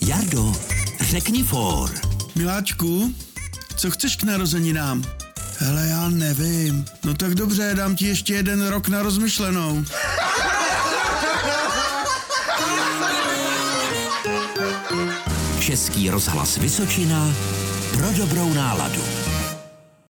Jardo, řekni for. Miláčku, co chceš k narozeninám? Hele, já nevím. No tak dobře, dám ti ještě 1 rok na rozmyšlenou. Český rozhlas Vysočina pro dobrou náladu.